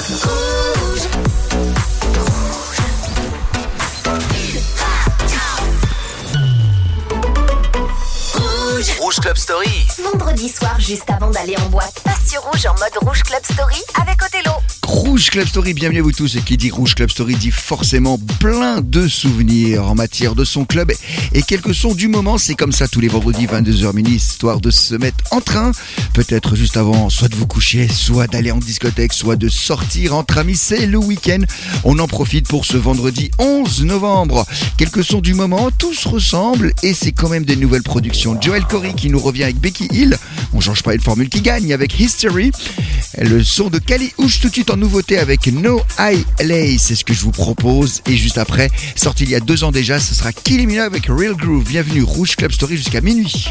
Rouge Club Story. Vendredi soir, juste avant d'aller en boîte, passe sur Rouge en mode Rouge Club Story avec Othello. Rouge Club Story, bienvenue à vous tous. Et qui dit Rouge Club Story dit forcément plein de souvenirs en matière de son club et quelques sons du moment. C'est comme ça tous les vendredis 22h minuit, histoire de se mettre en train, peut-être juste avant soit de vous coucher, soit d'aller en discothèque, soit de sortir entre amis. C'est le week-end, on en profite pour ce vendredi 11 novembre. Quelques sons du moment, tous ressemblent et c'est quand même des nouvelles productions. Joel Corry qui nous revient avec Becky Hill, on change pas une formule qui gagne avec History. Le son de Kali Uchis tout de suite en nouveauté avec No I Lay, c'est ce que je vous propose. Et juste après, sorti il y a 2 ans déjà, ce sera Kylie Minogue avec Real Groove. Bienvenue Rouge Club Story jusqu'à minuit.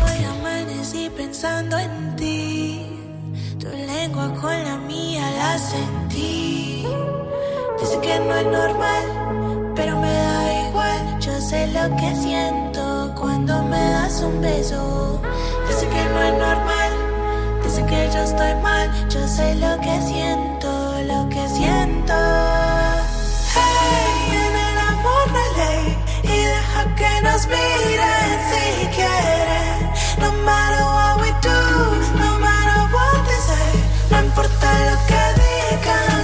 Dice que no es normal, pero me da igual. Yo sé lo que siento cuando me das un beso. Dice que no es normal, dice que yo estoy mal. Yo sé lo que siento, lo que siento. Hey, en el amor no hay ley y deja que nos miren si quieren. No matter what we do, no matter what they say, no importa lo que digan.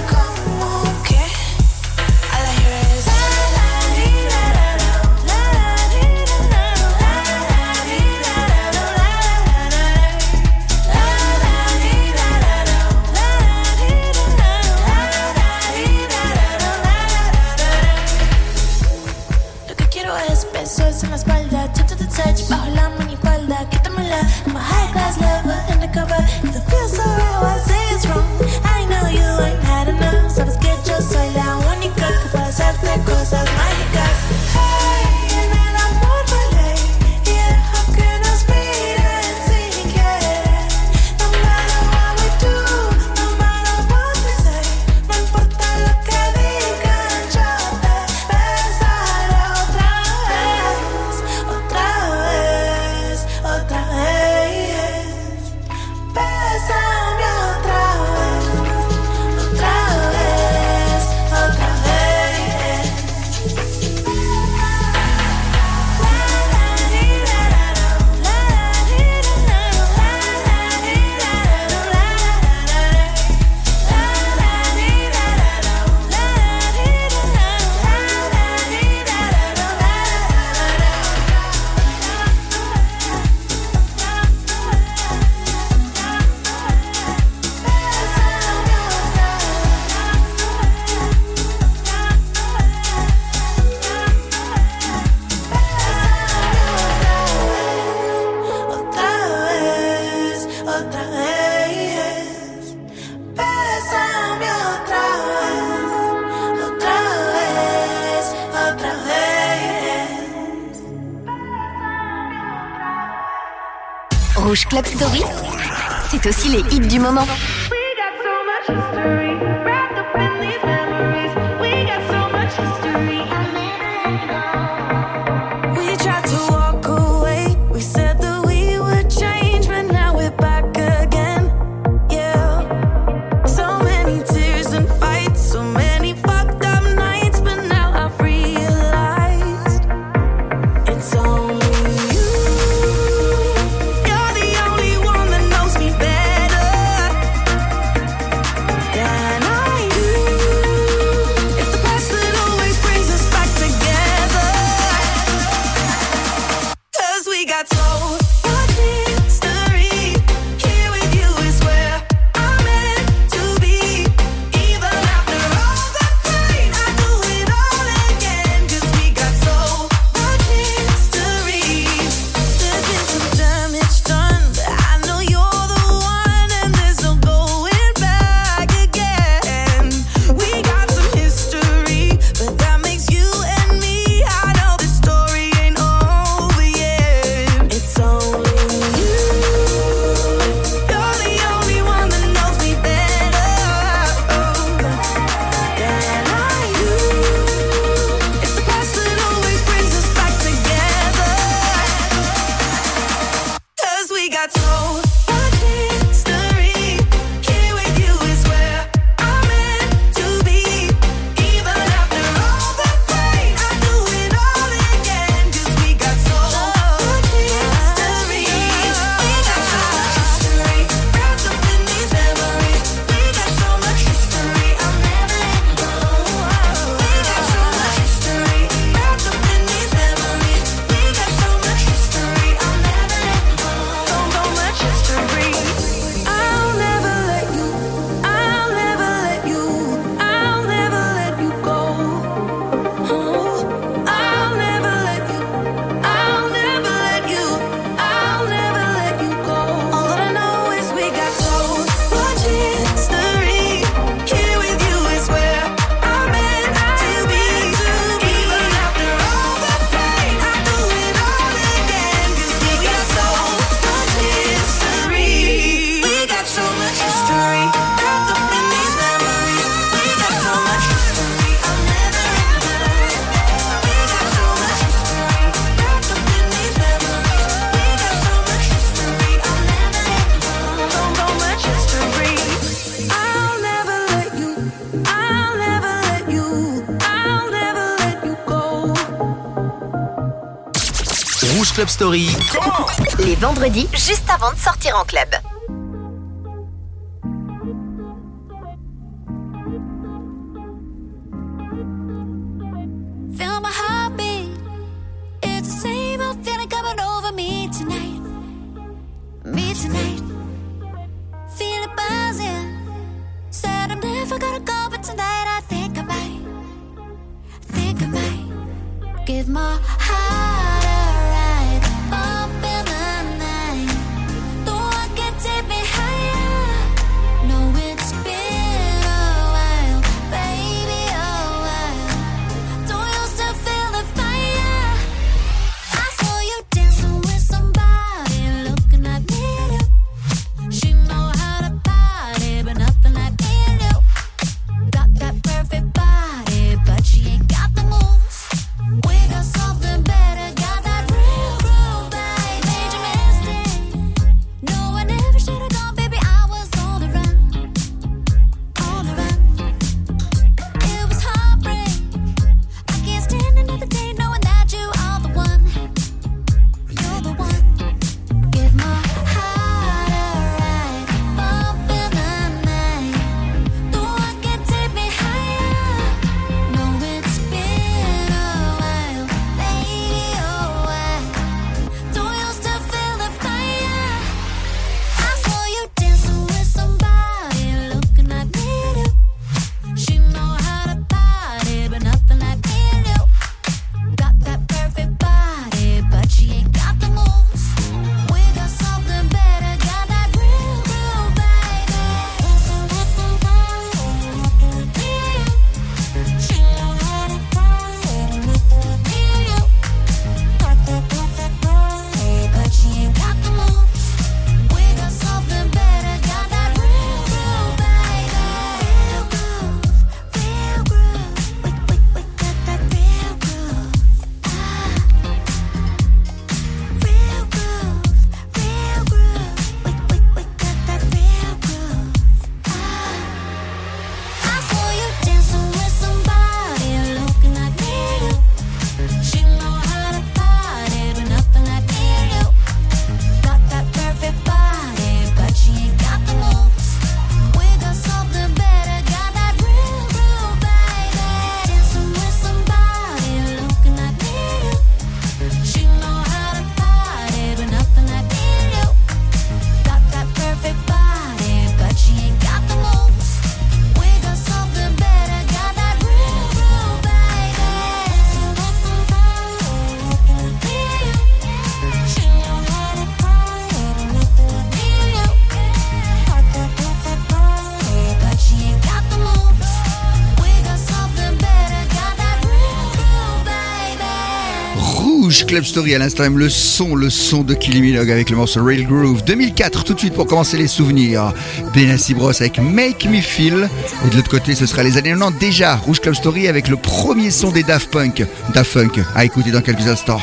Besos en la espalda, touch to the touch, bajo la minifalda, quítamela. I'm a high class lover, undercover. If it feels so real, I say it's wrong. I know you ain't had enough. Sabes que yo soy la única que puede hacerte cosas mágicas. Hey, en el amor no hay ley y deja que nos miren si quieren. No matter what we do, no matter what we say, no importa lo que digan, yo te besaré otra vez, otra vez, otra vez. Bésame otra vez, otra vez, otra vez. Otra vez, bésame otra vez, otra vez, otra vez. Rouge Club Story, c'est aussi les hits du moment. We got so much history wrapped up in these memories. We got so much history. We tried to walk away. We said that we would change, but now we're back again. Yeah. So many tears and fights, so many fucked up nights, but now I've realized it's only you. You're the only one that knows me better than I do. It's the past that always brings us back together. 'Cause we got so much history. Here with you is where I'm meant to be. Even after all the pain, I do it all again. 'Cause we got so much history. There's been some damage done, but I know you're the one, and there's no going back again. We got some history, but that makes you and me. I know this story ain't over yet. It's only you. You're the only one that knows me better than I do. It's the past that always brings us back together. 'Cause we got so much history. Here with you is where I'm meant to Rouge Club Story. Les vendredis, juste avant de sortir en club. Feel my heartbeat. It's the same old feeling coming over me tonight. Me tonight. Feel it buzzing. Said I'm never gonna go, but tonight I think I might. Think I might. Give my heart a ride. Up in the night. The one can take me higher. No, it's been a while, baby, a while. Don't you still feel the fire? I saw you dancing with somebody looking like me too. She know how to party, but nothing like me and you. Got that perfect body, but she ain't got the moves. We got something better, got that real groove, babe. Made you mistake. No, I never should've gone, baby. I was on the run, on the run. It was heartbreak. I can't stand another day knowing that you are the one. You're the one. Give my heart a ride. Bump in the night. The one can take me higher. No, it's been a while, baby, oh why? Don't you still feel the fire? I saw you dancing with somebody looking like me too. She know how to party, but nothing like me and you. Got that perfect body, but she ain't got the moves. We got something better, got that real groove, baby. She know how to party, me and you. Got that perfect body, but she ain't got the moves. We got something better, got that real groove, baby. Real groove, real groove. We got that real groove. Real groove, real groove. We got that real groove. I saw you dancing with somebody looking like me too. She know how to party, but nothing like me and you. Got that perfect body, but she ain't got the moves. We got something better, got that real groove, baby. Dancing with somebody looking like me too. She know how to party, but nothing like me and you. Got that perfect body, but she ain't got the moves. We got something better, got that real groove, baby. She know how to party, but nothing like me and you. Got that perfect body, but she ain't got the moves. We got something better, got that real groove, baby. Rouge Club Story à l'instant même le son de Kylie Minogue avec le morceau Real Groove 2004 tout de suite pour commencer les souvenirs. Benassi Bros avec Make Me Feel et de l'autre côté ce sera les années 90 déjà. Rouge Club Story avec le premier son des Daft Punk à écouter dans quelques instants.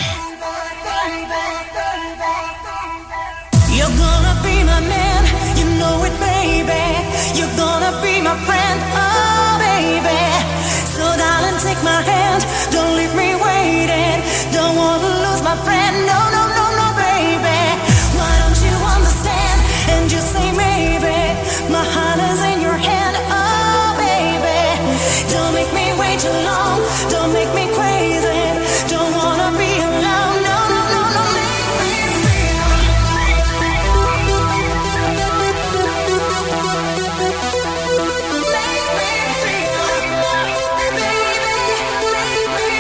You're gonna be my man, you know it, baby. You're gonna be my friend, oh baby. So darling, take my hand, don't leave me waiting. Don't wanna lose my friend, no, no, no, no, baby. Why don't you understand and just say maybe? My heart is in your hand, oh baby. Don't make me wait too long, don't make me crazy. Don't wanna be alone, no, no, no, no. Make me feel. Make me feel, baby, make me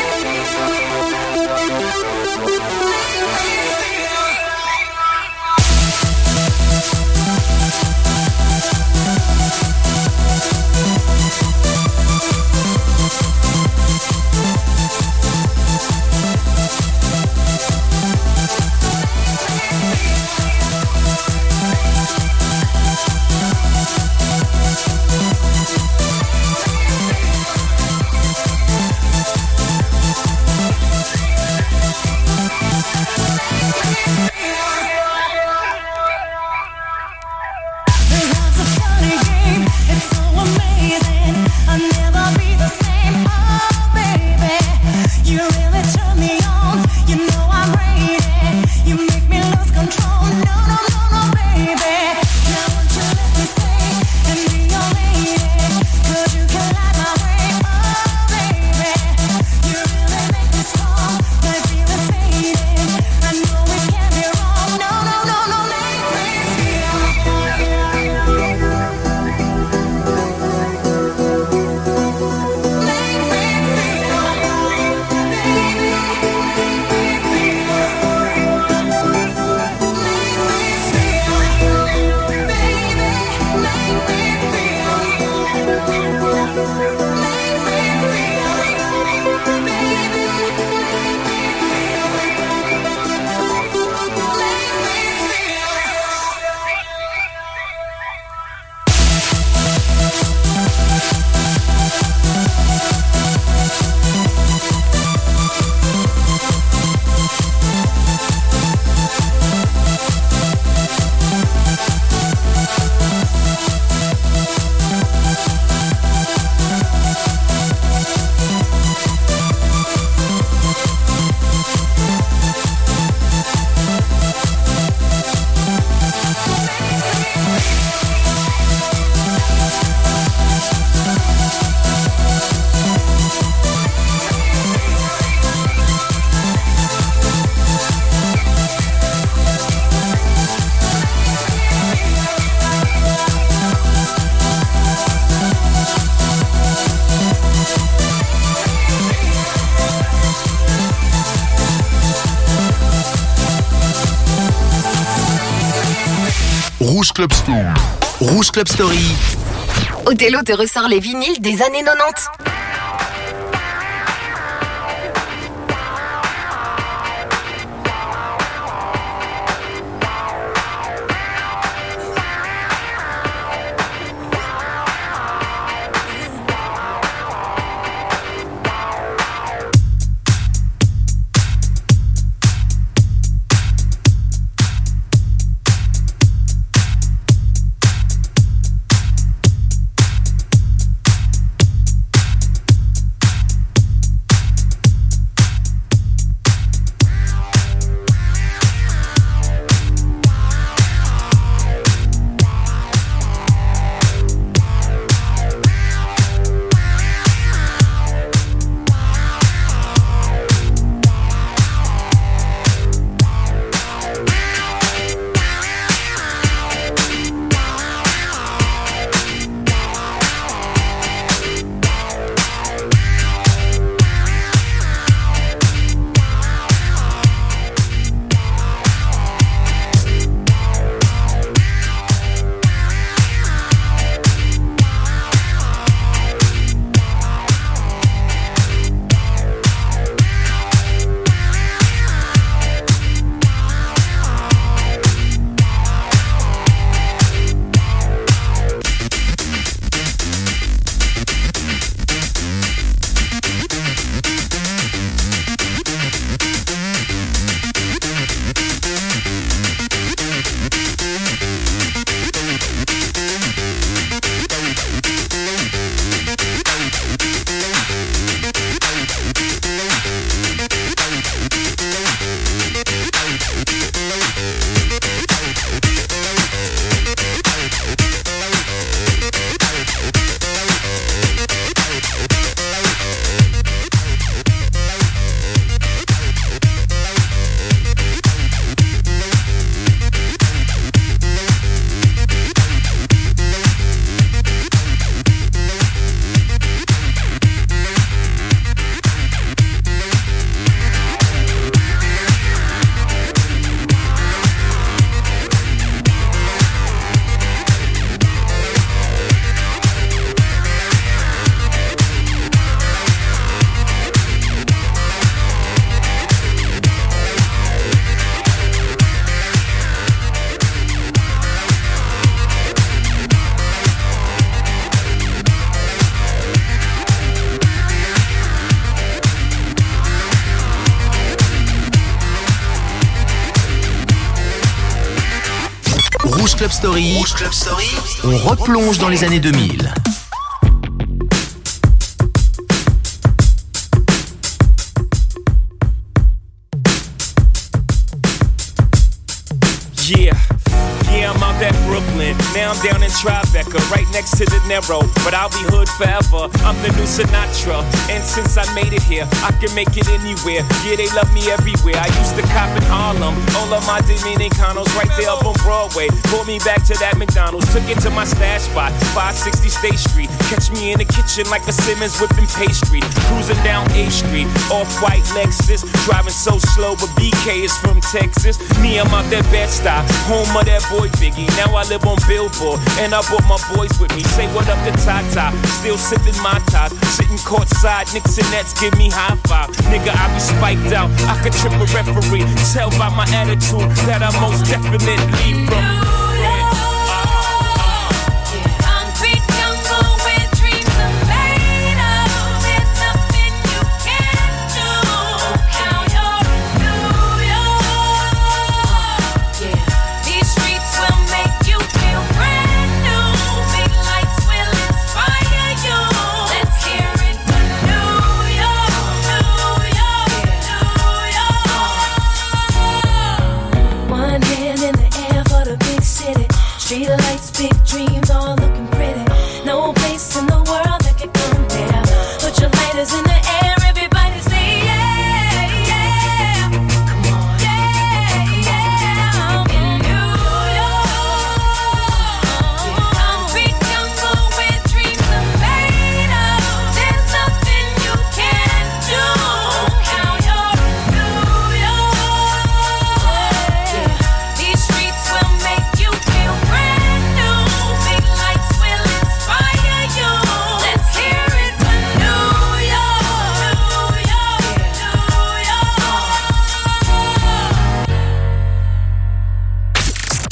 Rouge Club Story. Rouge Club Story. Othello te ressort les vinyles des années 90. Rouge Club Story. Rouge Club Story. On replonge dans les années 2000. Yeah, I'm out at Brooklyn. Now I'm down in Tribeca, right next to De Niro. But I'll be hood forever. I'm the new Sinatra. And since I made it here, I can make it anywhere. Yeah, they love me everywhere. I used to cop in Harlem. All of my Dominicanos right there up on Broadway. Pulled me back to that McDonald's. Took it to my stash spot, 560 State Street. Catch me in the kitchen like a Simmons whipping pastry. Cruising down A Street, off-white Lexus. Driving so slow, but BK is from Texas. Me, I'm out that Bed-Stuy, home of that boy Biggie. Now I live on Billboard, and I brought my boys with me. Say what up to Tata, still sipping my top. Sitting courtside, Knicks and Nets give me high five. Nigga, I be spiked out, I could trip a referee. Tell by my attitude that I most definitely from. Street lights, big dreams, all looking pretty. No place in the world that could compare. Put your lighters in the air, everybody say yeah, yeah. Come on, yeah, yeah. I'm in New York. I'm big jungle where dreams are made of. There's nothing you can't do. Now you're in New York. These streets will make you feel great.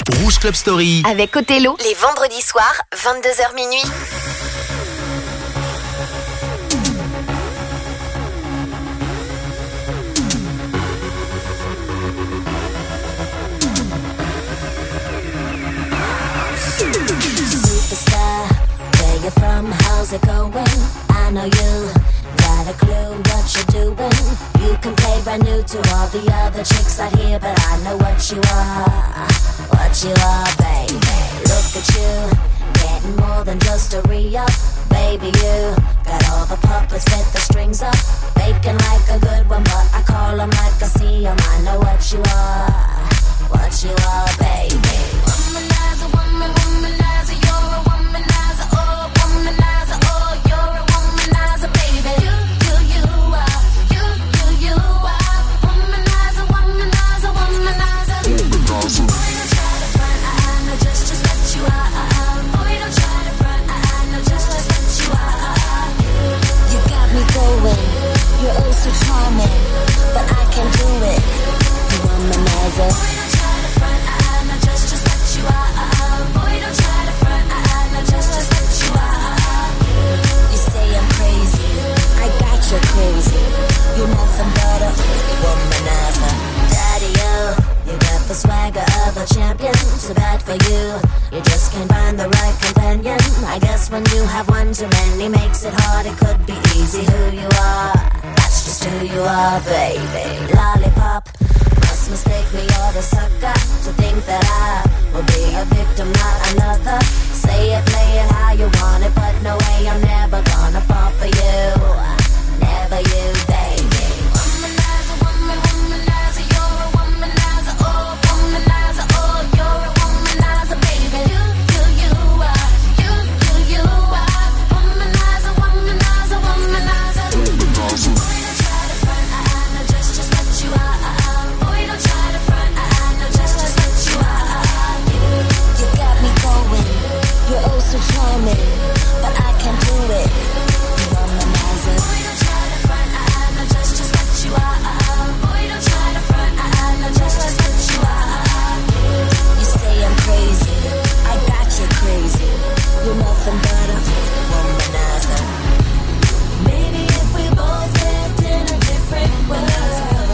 Rouge Club Story. Avec Othello, les vendredis soirs, 22h minuit. Superstar, where you from? How's it going? I know you got a clue what you're doing. You can play brand new to all the other chicks out here, but I know what you are, baby. Look at you, getting more than just a re-up. Baby, you got all the puppets with the strings up, faking like a good one, but I call them like I see them. I know what you are, baby. Womanizer, womanizer, you're a womanizer, oh, womanizer, oh, you're a womanizer, baby. You are, you are, womanizer, womanizer, womanizer. Boy, don't try to front, I know just what you are. Boy, don't try to front, I know just what you are. You got me going, you're oh so charming, but I can't do it. You womanizer. Boy, don't try to front, I know just what you are. Boy, don't try to front, I know just what you are. You say I'm crazy, I got you crazy. You're nothing but a womanizer. Daddy, you got the swagger of a champion. Too bad for you, you just can't find the right companion. I guess when you have one too many makes it hard. It could be easy who you are. That's just who you are, baby. Lollipop, must mistake me or the sucker to think that I will be a victim, not another. Say it, play it how you want it, but no way, I'm never gonna fall for you. Never you, baby. Womanizer, womanizer, you're a womanizer, oh, womanizer, oh, you're a womanizer, baby. You are, you are, womanizer, womanizer, womanizer. Boy, don't try to front, I know just what you are. Boy, don't try to front, I know just what you are. You got me going, you're oh so charming, but I can't do it. You womanizer. Boy, don't try to front, I know just what you are. Boy, don't try to front, I know just what you are. You say I'm crazy, I got you crazy. You're nothing but a womanizer. Maybe if we both lived in a different world,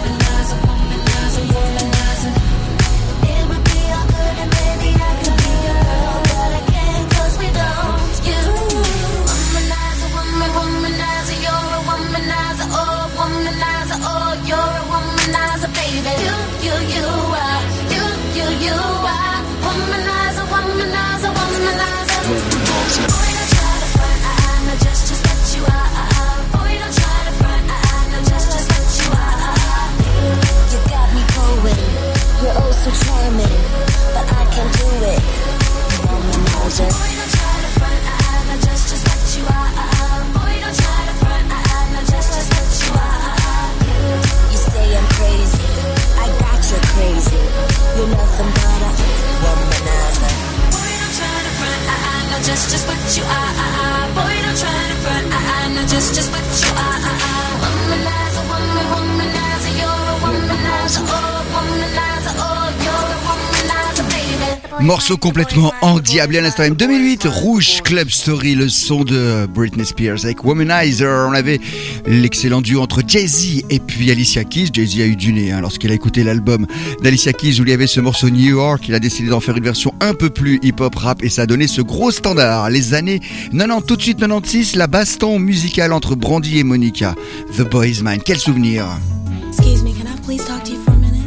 it would be all good and maybe I could be your girl, but I can't 'cause we don't. You womanizer, womanizer, you're a womanizer, oh, womanizer, oh, you're a womanizer, baby. You are, you are, womanizer, womanizer, womanizer. Boy, don't try to front, I know just what you are. Boy, don't try to front, I know just what you are. You got me going, you're oh so charming, but I can't do it. You womanizer. Boy, don't try to front, I know just what you are. Boy, don't try to front, I know just what you are. You say I'm crazy, I got you crazy. You're nothing but a womanizer. Boy, don't try to front, I know just what you are. Boy, don't try to front, I know just what you are. Womanizer, womanizer, you're a womanizer, oh, womanizer, oh, you're a womanizer, baby. Morceau complètement endiablé à l'instant même. 2008, Rouge Club Story, le son de Britney Spears avec Womanizer. On avait l'excellent duo entre Jay-Z et puis Alicia Keys. Jay-Z a eu du nez lorsqu'il a écouté l'album d'Alicia Keys où il y avait ce morceau New York. Il a décidé d'en faire une version un peu plus hip-hop rap et ça a donné ce gros standard. Les années 90, tout de suite 96, la baston musicale entre Brandy et Monica. The Boy Is Mine. Quel souvenir. Excuse me, can I please talk to you for a minute?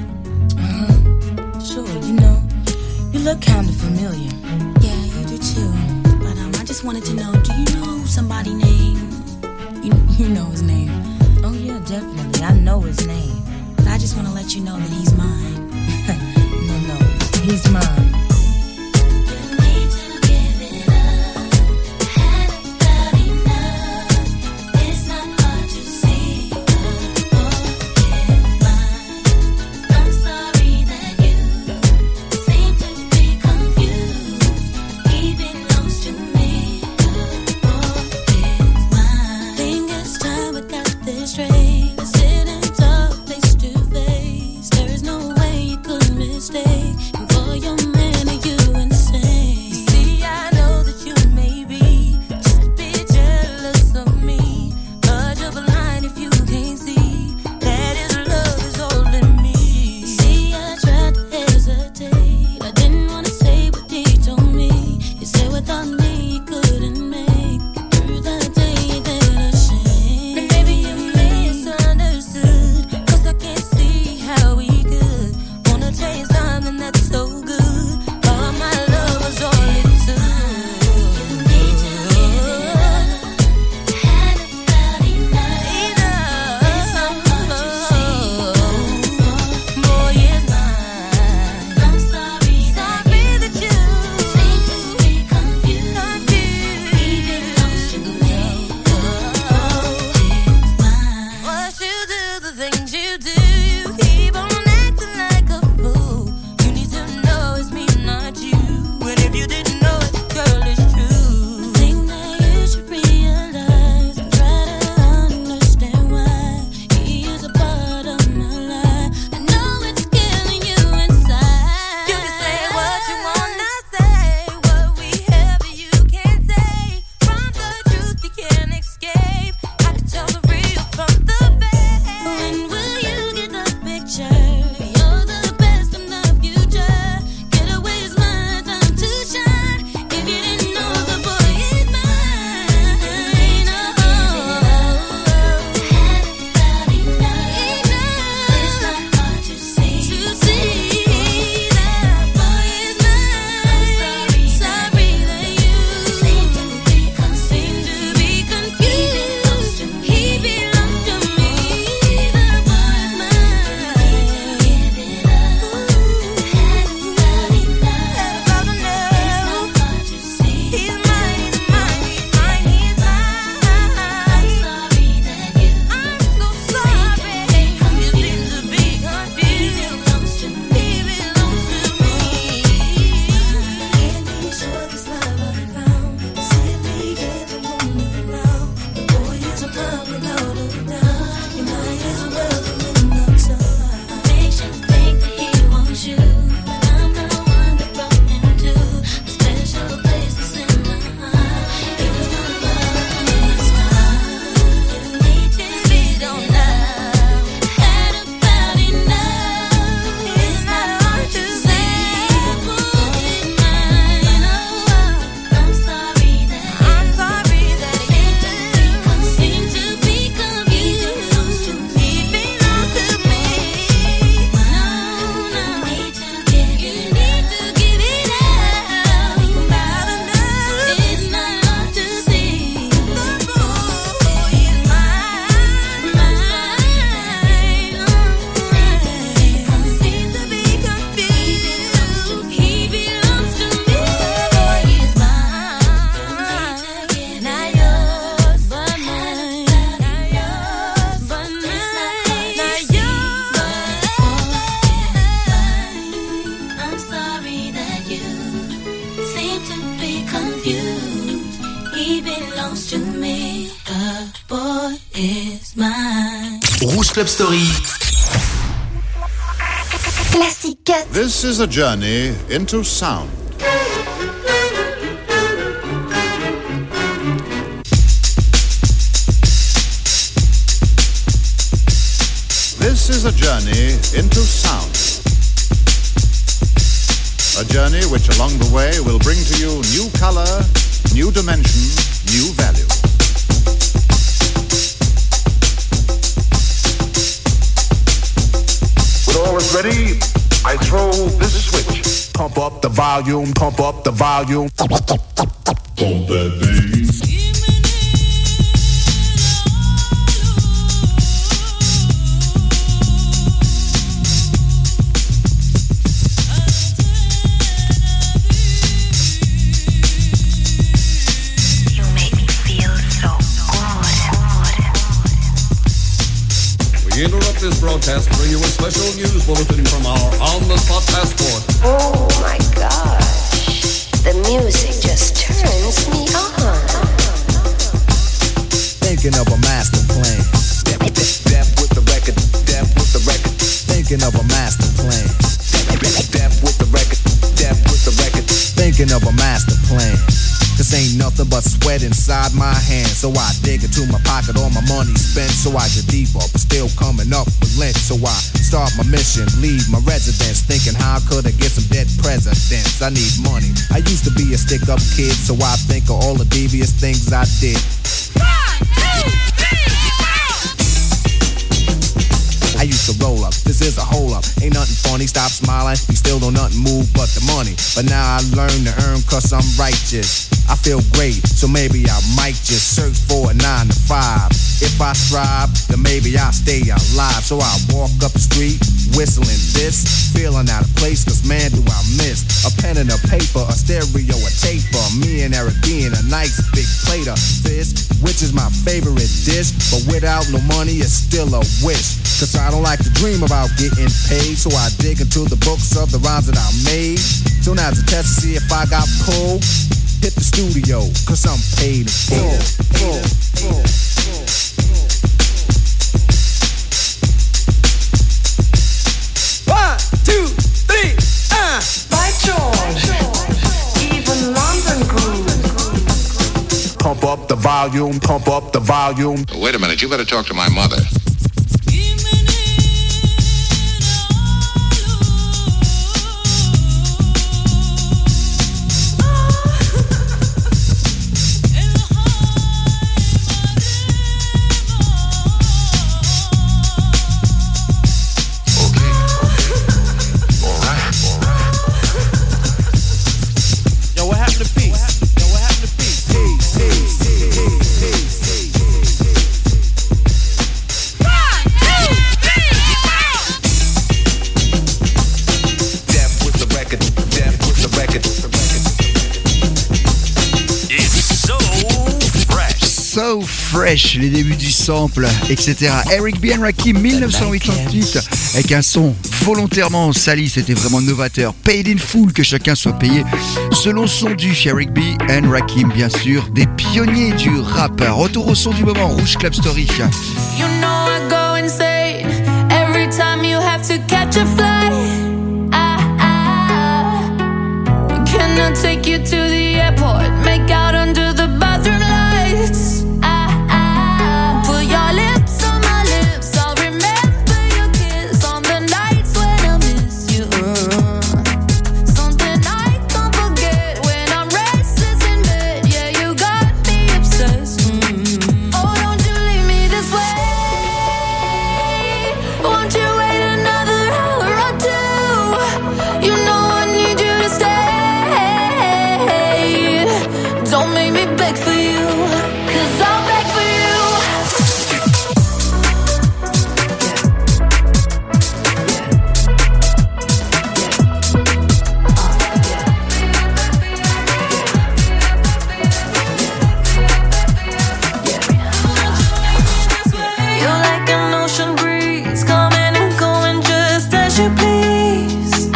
Sure, you look kind of familiar. Yeah, you do too. But I just wanted to know, do you know somebody named... You know his name. Oh yeah, definitely, I know his name. But I just want to let you know that he's mine. No, he's mine. There is no way you could mistake. And for your I didn't wanna say what he told me. He said without me he couldn't make it through the day. He did a shame. And maybe you misunderstood, 'cause I can't see how we could wanna chase something that's so good. All my love was all it took. You need to give it up. Had about enough. It's not hard to see. Boy, it's mine. I'm sorry that you seem to be confused. He belongs to me. Oh, it's mine. What you do, the things you do, you keep on acting like a fool. You need to know it's me, not you. And if you didn't know it, girl, it's true. I think that you should realize and try to understand why he is a part of my life. I know it's killing you inside. You can say what you wanna say, what we have you can't take. From the truth you can't escape. I can tell the real from the fake. When will you get the picture? You're the best in the future. Get away, it's my time to shine. If you didn't know, the boy is mine. Oh, had about enough. It's not hard to see that boy is mine. I'm sorry that you seem to be confused. He belongs to me. The boy is mine. Give it up. Had about enough. It's not hard to see. He's mine. I'm sorry that you. I'm so sorry. You seem to be confused. He belongs to me. Can't be sure this love I found. Simply get the woman now. The boy is a mine without a doubt. You might as well come in the time. Makes you think that he wants you, but I'm the one that brought him to a special place that's in my heart. He was one of us. You need to be don't love. Had about enough. It's not hard to say. Boy is mine. I'm sorry that he seem to be confused. He belongs to me. No, need to give it up. About enough. It's not hard to see. The boy is mine. Seems to be confused. He belongs to me. The boy is mine. Not yours, but mine. Not yours, but mine. Not yours. I'm sorry that you seem to be confused. He belongs to me. The boy is mine. Rouge Club Story. Classic cut. This is a journey into sound. This is a journey into sound. A journey which along the way will bring to you new color, new dimension, new value. When all is ready, I throw this switch. Pump up the volume, pump up the volume. Pump that bass. You make me feel so good. We interrupt this broadcast to bring you a special news bulletin from our on-the-spot passport. Oh my gosh. The music just turns me on. Thinking of a master plan. Death with the record. Death with the record. Thinking of a master plan. Death with the record. Death with the record. Thinking of a master plan. This ain't nothing but sweat inside my hands. So I dig into my pocket, all my money spent. So I get deeper, but still coming up with lint. So I start my mission, leave my residence, thinking how could I get some dead presidents? I need money. I used to be a stick-up kid, so I think of all the devious things I did. I used to roll up, this is a hole up. Ain't nothing funny, stop smiling. We still don't nothing move but the money. But now I learn to earn cause I'm righteous. I feel great, so maybe I might just search for a 9 to 5. If I strive, then maybe I'll stay alive. So I walk up the street, whistling this, feeling out of place, cause man do I miss a pen and a paper, a stereo, a taper. Me and Eric being a nice big plate of fish, which is my favorite dish. But without no money, it's still a wish. Cause I don't like to dream about getting paid, so I dig into the books of the rhymes that I made. So now to test to see if I got pulled, hit the studio, cause I'm paid in full. One, two, three, By George, even London groove. Pump up the volume, pump up the volume. Wait a minute, you better talk to my mother. So Fresh, les débuts du sample, etc. Eric B. and Rakim, 1988, avec un son volontairement sali, c'était vraiment novateur. Paid in full, que chacun soit payé selon son dû. Eric B. and Rakim, bien sûr, des pionniers du rap. Retour au son du moment, Rouge Club Story. You know I go insane every time you have to catch a flight. Can I take you to the airport? Make out under the bathroom lights. Put your lips on my lips. I'll remember your kiss on the nights when I miss you. Something I can't forget when I'm restless in bed. Yeah, you got me obsessed. Oh, don't you leave me this way. Won't you wait another hour or two? You know I need you to stay. Don't make me beg for you, 'cause I'll beg for you. You're like an ocean breeze, coming and going just as you please.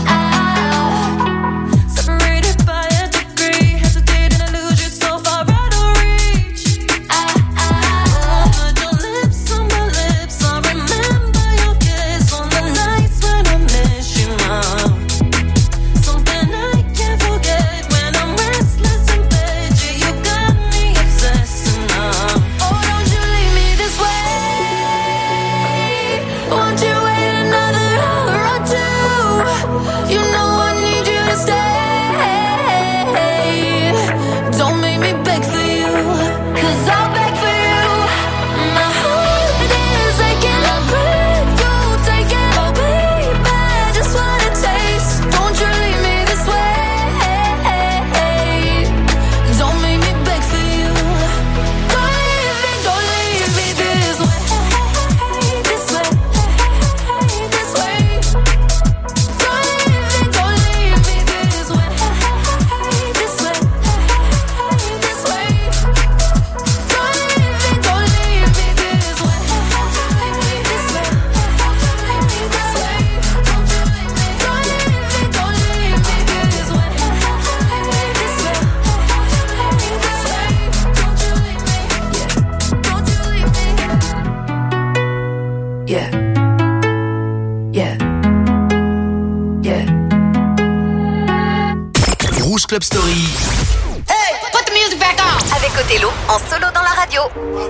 Separated by a degree, hesitating to lose you so far out of reach. Put your lips on my lips, I remember your kiss on the nights when I miss you now. Something I can't forget when I'm restless in bed. Yeah, you got me obsessed now. Oh, don't you leave me this way. Won't you wait another hour or two? You know I need you to stay. Don't make me beg for you, 'cause I'll beg for you. My heart is aching, I crave you, take it, oh baby, just wanna taste. Don't you leave me this way. Don't make me beg for you. Don't leave me this way. This way, this way. Don't leave me this way. This way, this way. Don't leave me this way. This way, this way. Don't leave me this way. This way, this way. Don't you leave me. Yeah. Yeah. Yeah. Rouge Club Story. Hey, put the music back on. Avec Othello en solo dans la radio.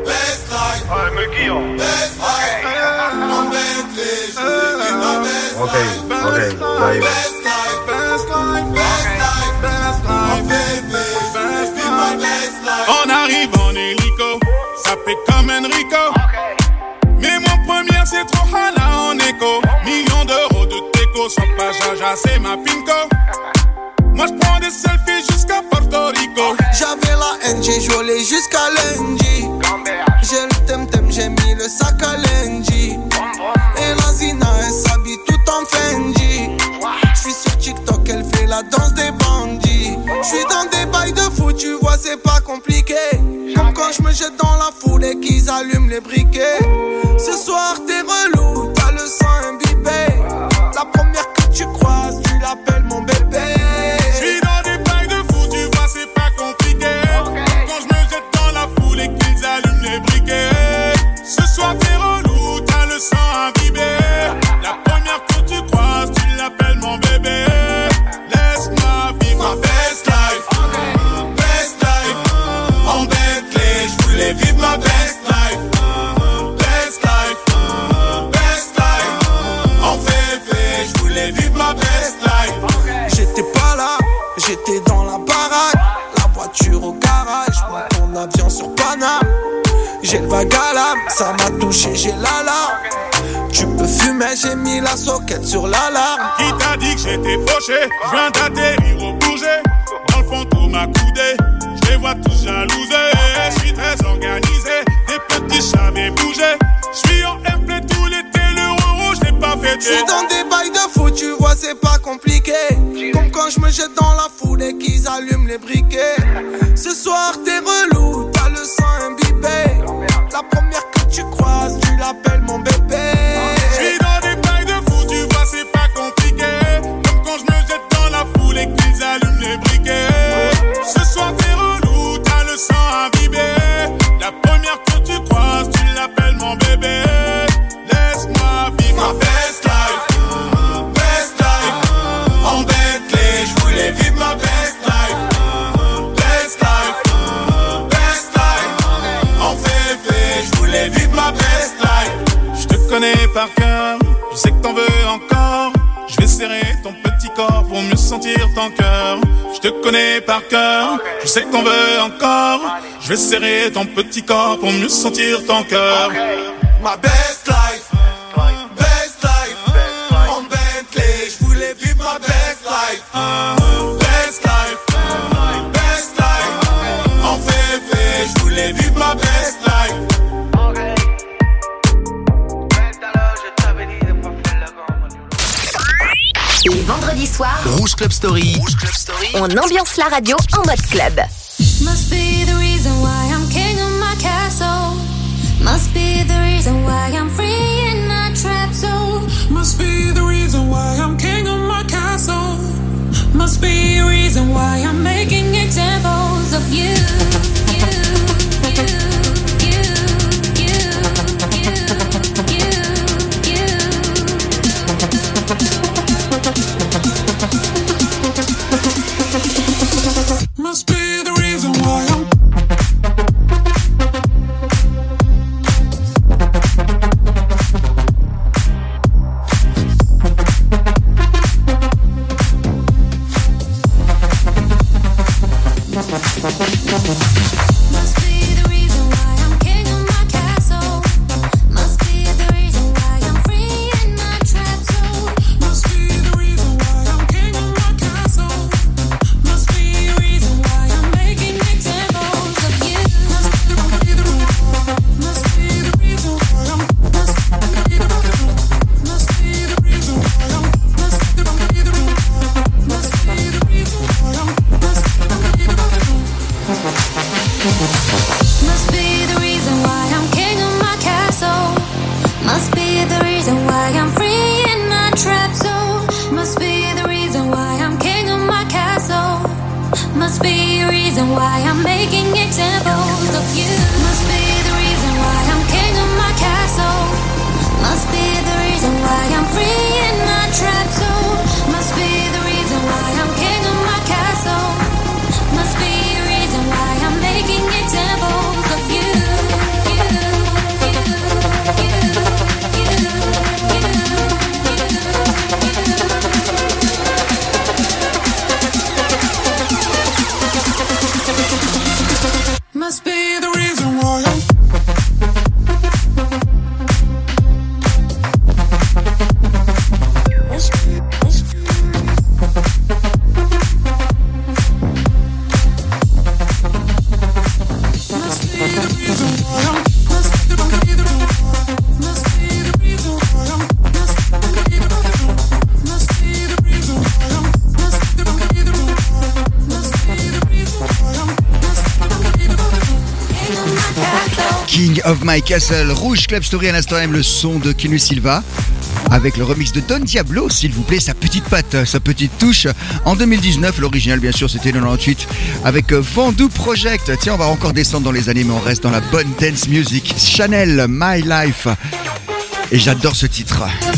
On arrive en hélico, ça fait comme Enrico. Mais mon premier c'est trop hala en écho. Millions d'euros de déco, sans pas jaja, c'est ma pinko. Moi j'prends des selfies jusqu'à Porto Rico. J'avais la haine, j'ai joué jusqu'à lundi. J'ai le temtem, j'ai mis le sac à lundi. Et la Zina, elle s'habille tout en Fendi. J'suis sur TikTok, elle fait la danse des bandits. J'suis dans des bails de foot, tu vois c'est pas compliqué. Comme quand j'me jette dans la foule et qu'ils allument les briquets. Ce soir t'es relou, t'as le sang imbibé. La première que tu croises, tu l'appelles mon bébé. J'suis dans des bails de foot, tu vois c'est pas compliqué. Quand j'me jette dans la foule et qu'ils allument les briquets. Ce soir t'es relou, t'as le sang imbibé. La première que tu croises, tu l'appelles mon bébé. Laisse-moi vivre ma best life. Best life. En Bentley, j'voulais vivre ma best life. Best life. Best life. En VV, j'voulais vivre ma best life. J'étais pas là, j'étais dans la baraque. La voiture au garage, mon avion sur Paname. J'ai le vague à l'âme, ça m'a touché, j'ai l'alarme. Tu peux fumer, j'ai mis la soquette sur l'alarme. Qui t'a dit que j'étais fauché? Je viens d'atterrir au Bourget. Dans le fond, tout m'a coudé. Je les vois tous jalousés. Je suis très organisé. Des petits chavets bougés. Je suis en airplay tout l'été. Le rouge, je l'ai pas fêté. Je suis dans des bails de foot, tu vois, c'est pas compliqué. Comme quand je me jette dans la foule et qu'ils allument les briquets. Ce soir, t'es relou, t'as le sang imbibé. La première que tu croises, tu l'appelles mon bébé. Je suis dans des bails de foot, tu vois, c'est pas compliqué. Comme quand je me jette dans la foule et qu'ils allument les briquets. Ce soir, t'es relou, t'as le sang imbibé. La première que tu croises, tu l'appelles mon bébé. Laisse-moi vivre ma best life. Best life. En Bentley, j'voulais vivre ma best life. Best life. Best life. En VV, j'voulais vivre ma best life. Je te connais par cœur, je sais que t'en veux encore. Je vais serrer ton petit corps pour mieux sentir ton cœur. Je te connais par cœur, je sais que t'en veux encore. Je vais serrer ton petit corps pour mieux sentir ton cœur. Ma best life. Best life. En Bentley, j'voulais vivre ma best life. Best life. Best life. En VV, j'voulais vivre ma best life. Les vendredis soirs, Rouge Club Story. on ambiance la radio en mode club. Must be the reason why I'm king of my castle. Must be the reason why I'm free in my trap zone. Must be the reason why I'm king of my castle. Must be the reason why I'm making examples of you. Must be the reason why I'm Must be the reason why I'm king of my castle. Must be the reason why I'm free in my trap zone. Must be the reason why I'm king of my castle. Must be the reason why I'm making examples of you. Must be the reason why I'm. Must be the reason why I'm. Must be the reason why I'm. Must be the reason why I'm. Must be the reason why I'm. Must be the reason why I'm. Must be the reason why I'm king of my castle. Must be the reason why I'm free in my trap zone. Must be the reason why I'm king of my castle. Must be the reason why I'm making examples of you. Must be the reason why I'm king of my castle. Must be the reason why I'm free in my trap zone. Must be the reason why I'm king of my castle. Must be the reason why I'm King of My Castle. Rouge Club Story à l'instant même, le son de Kenu Silva. Avec le remix de Don Diablo, s'il vous plaît, sa petite patte, sa petite touche. En 2019, l'original bien sûr c'était 98 avec Vendu Project. Tiens, on va encore descendre dans les années mais on reste dans la bonne dance music. Chanel, My Life. Et j'adore ce titre.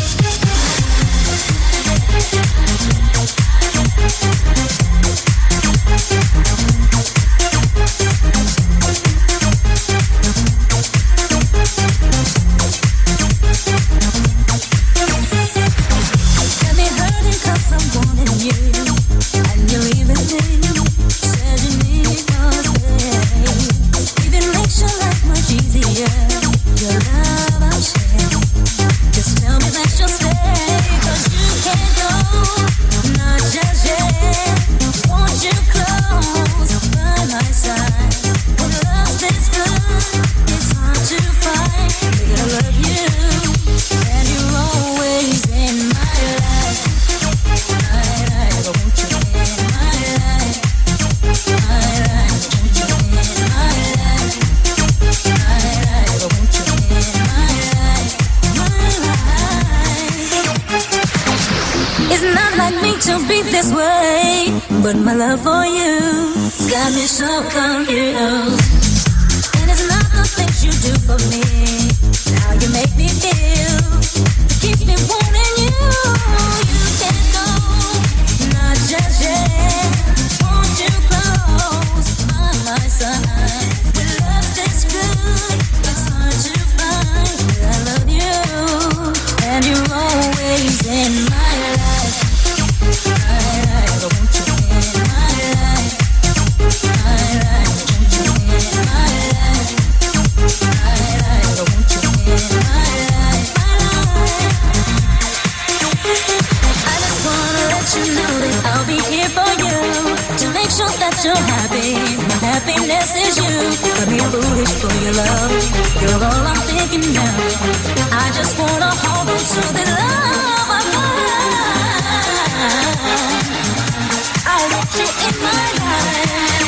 But my love for you's got me so confused. And it's not the things you do for me, how you make me feel, it keeps me wanting you. You can't go, not just yet. Want you close by my side. When love tastes good, it's hard to find. I love you, and you're always in my life. That you're happy, my happiness is you. Got me foolish for your love, you're all I'm thinking now. I just wanna hold on to the love I find. I want you in my life.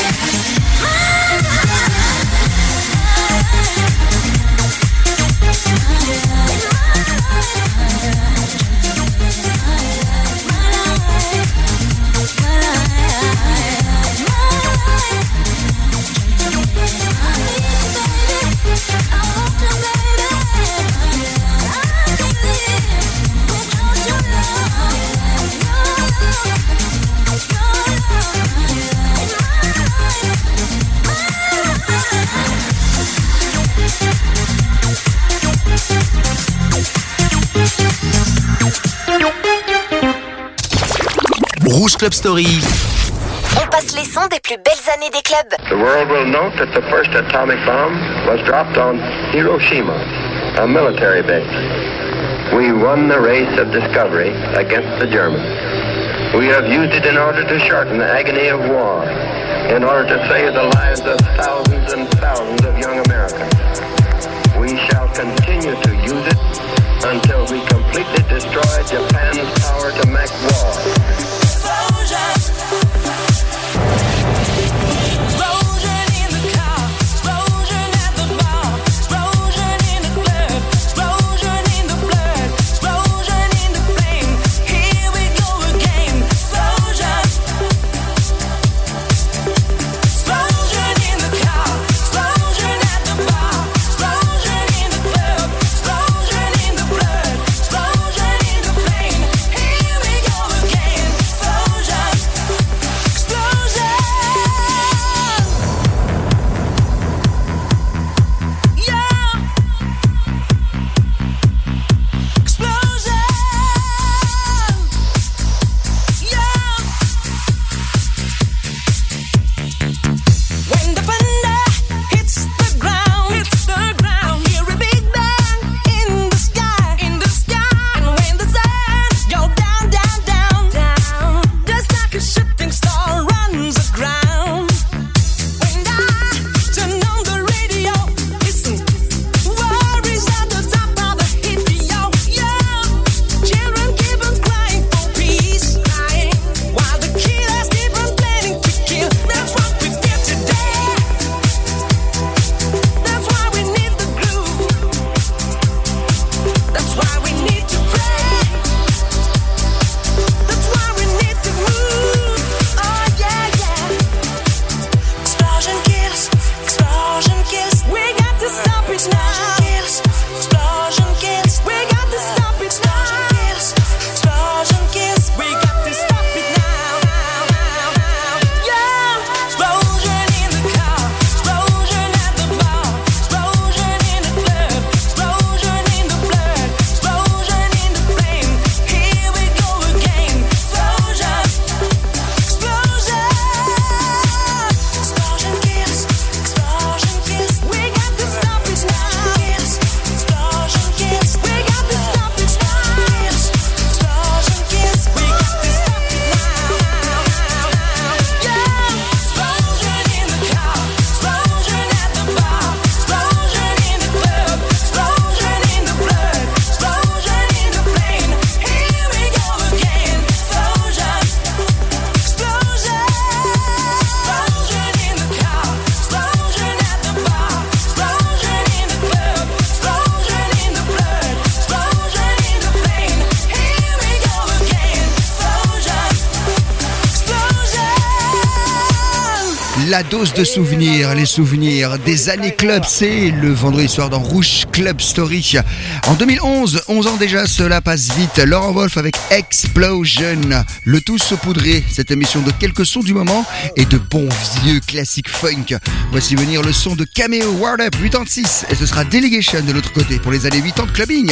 Rouge Club Story. On passe les sons des plus belles années des clubs. The world will note that the first atomic bomb was dropped on Hiroshima, a military base. We won the race of discovery against the Germans. We have used it in order to shorten the agony of war, in order to save the lives of thousands and thousands of young Americans. We shall continue to use it until we completely destroy Japan's power to make war. Here we go La dose de souvenirs, les souvenirs des années club, c'est le vendredi soir dans Rouge Club Story. En 2011, 11 ans déjà, cela passe vite. Laurent Wolf avec Explosion. Le tout saupoudré, cette émission de quelques sons du moment et de bons vieux classiques funk. Voici venir le son de Cameo Word Up 86 et ce sera Delegation de l'autre côté pour les années 80 de clubbing.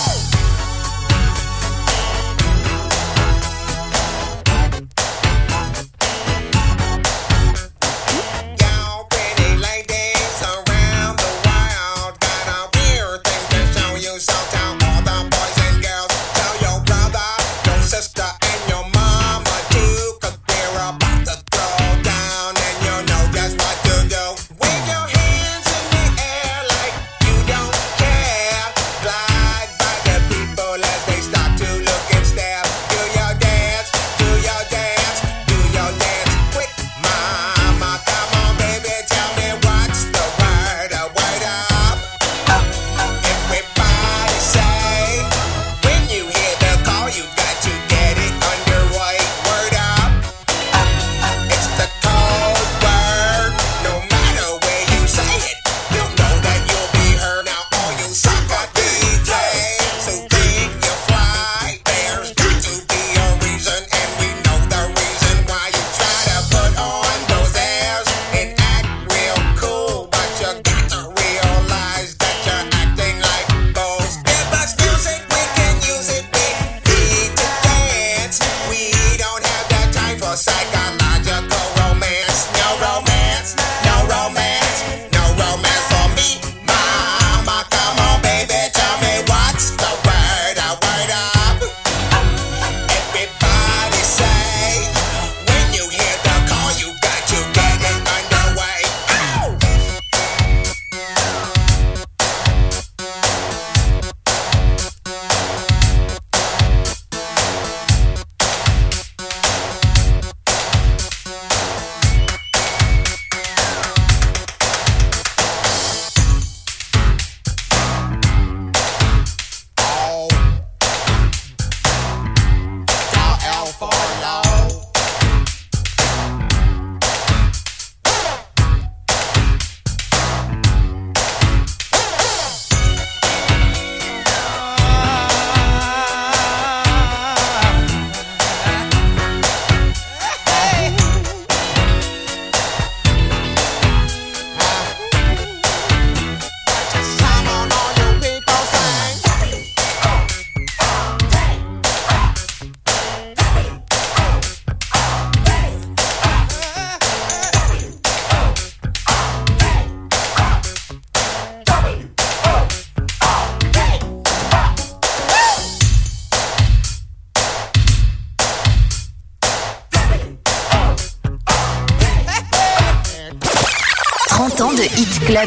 Club.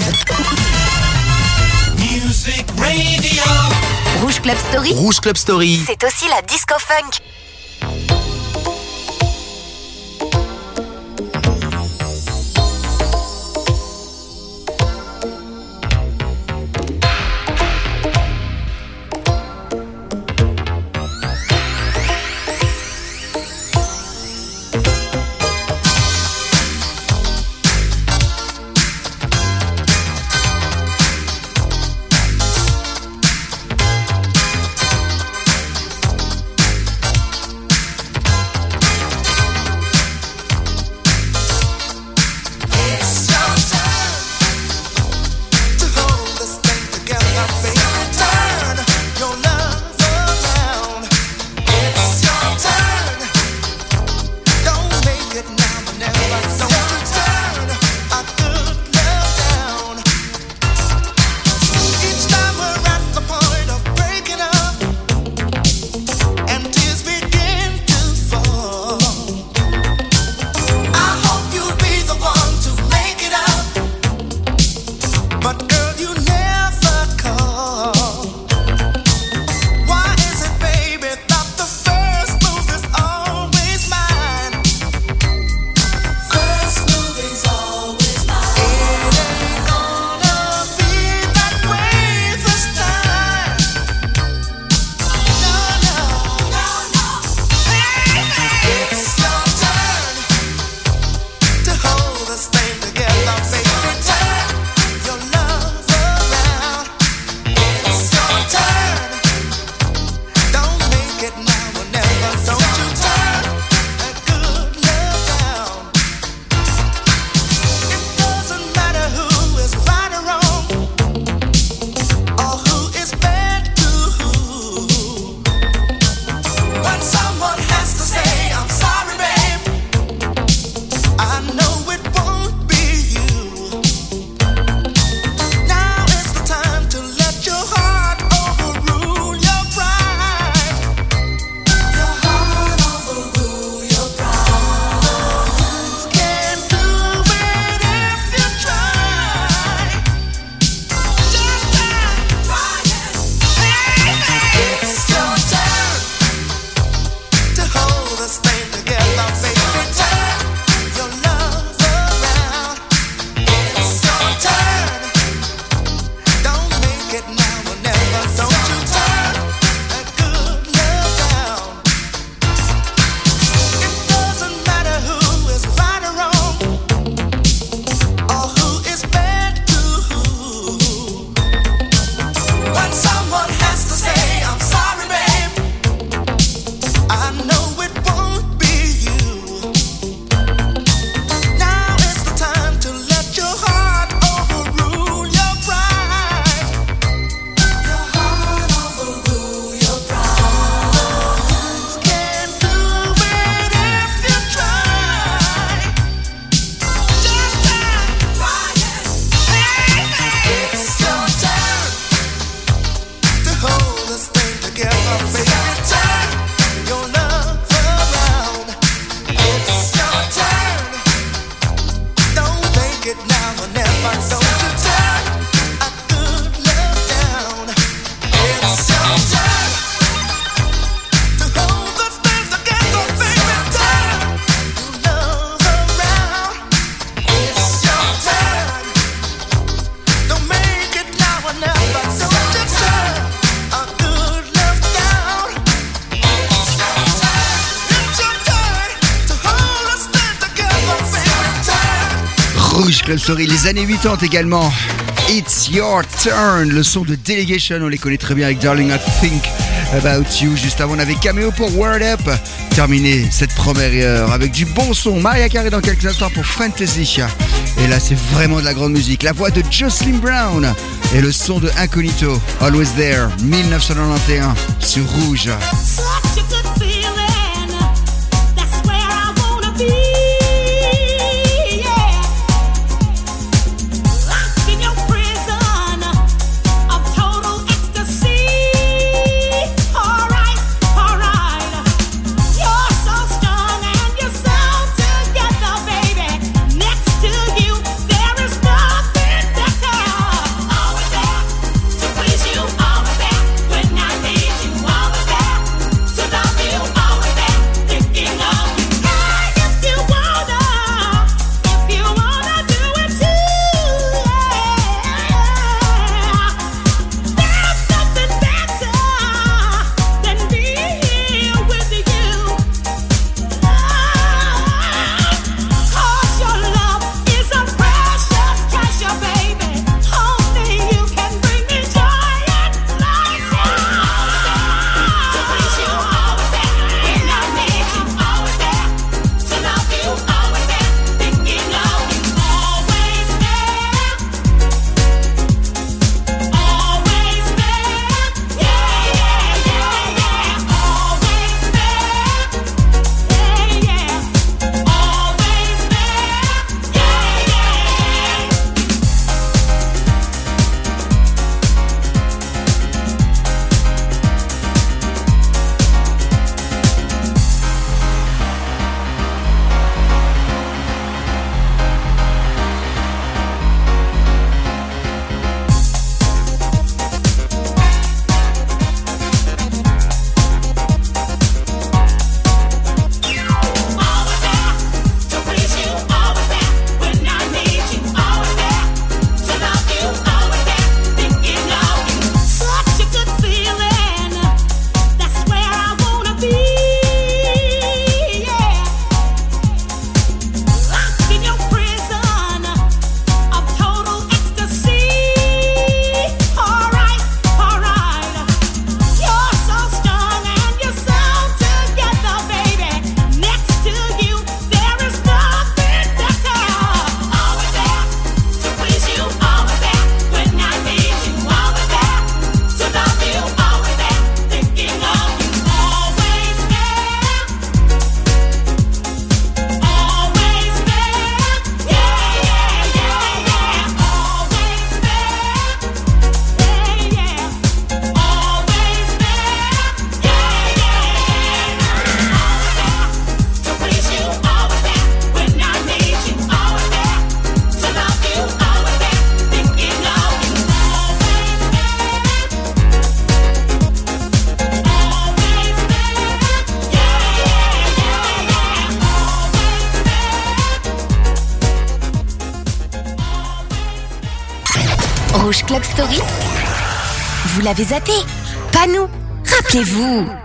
Music Radio. Rouge Club Story. Rouge Club Story. C'est aussi la disco funk. Rouge Club Story, les années 80 également. It's Your Turn, le son de Delegation, on les connaît très bien avec Darling I Think About You. Juste avant, on avait Cameo pour Word Up. Terminé cette première heure avec du bon son. Mariah Carey dans quelques instants pour Fantasy. Et là, c'est vraiment de la grande musique. La voix de Jocelyn Brown et le son de Incognito, Always There, 1991 sur Rouge. Such a good feeling. That's where I wanna be. Yeah. Locked in your prison of total ecstasy. Alright, alright. You're so strong and you're so together, baby. Next to you, there is nothing better. Always there to please you. Always there when I need you. Always there to love you. Always there thinking of you. Hey, if you wanna do it too. There's nothing better than being here with you. 'Cause your love is a precious treasure, baby. Only you can bring me joy and pleasure. To please you, always there when I need you. Always there to love you. Always there thinking of you. Always there. Always there. Yeah, yeah, yeah, yeah. Always there. Yeah, yeah. Always there. Yeah, yeah. Always there to please you. Always there when I need you. Always there to love you. Always there thinking of you. Such a good feeling. That's where I wanna be. Yeah. Locked in your prison of total ecstasy. Alright, alright. You're so strong and you're so together, baby. Next to you, there is nothing better. Always there to please you. Always there when I need you. Always there to love you. Always there thinking of you. Always there. Always there. Yeah, yeah, yeah, yeah. Always there. Yeah, yeah. Always there. Yeah, yeah. To please you, always there when I need you. Always there to love you. Always there thinking of you. Always there. Always there. Yeah, yeah, yeah. Rouge Club Story. Vous l'avez zappé? Pas nous. Rappelez-vous.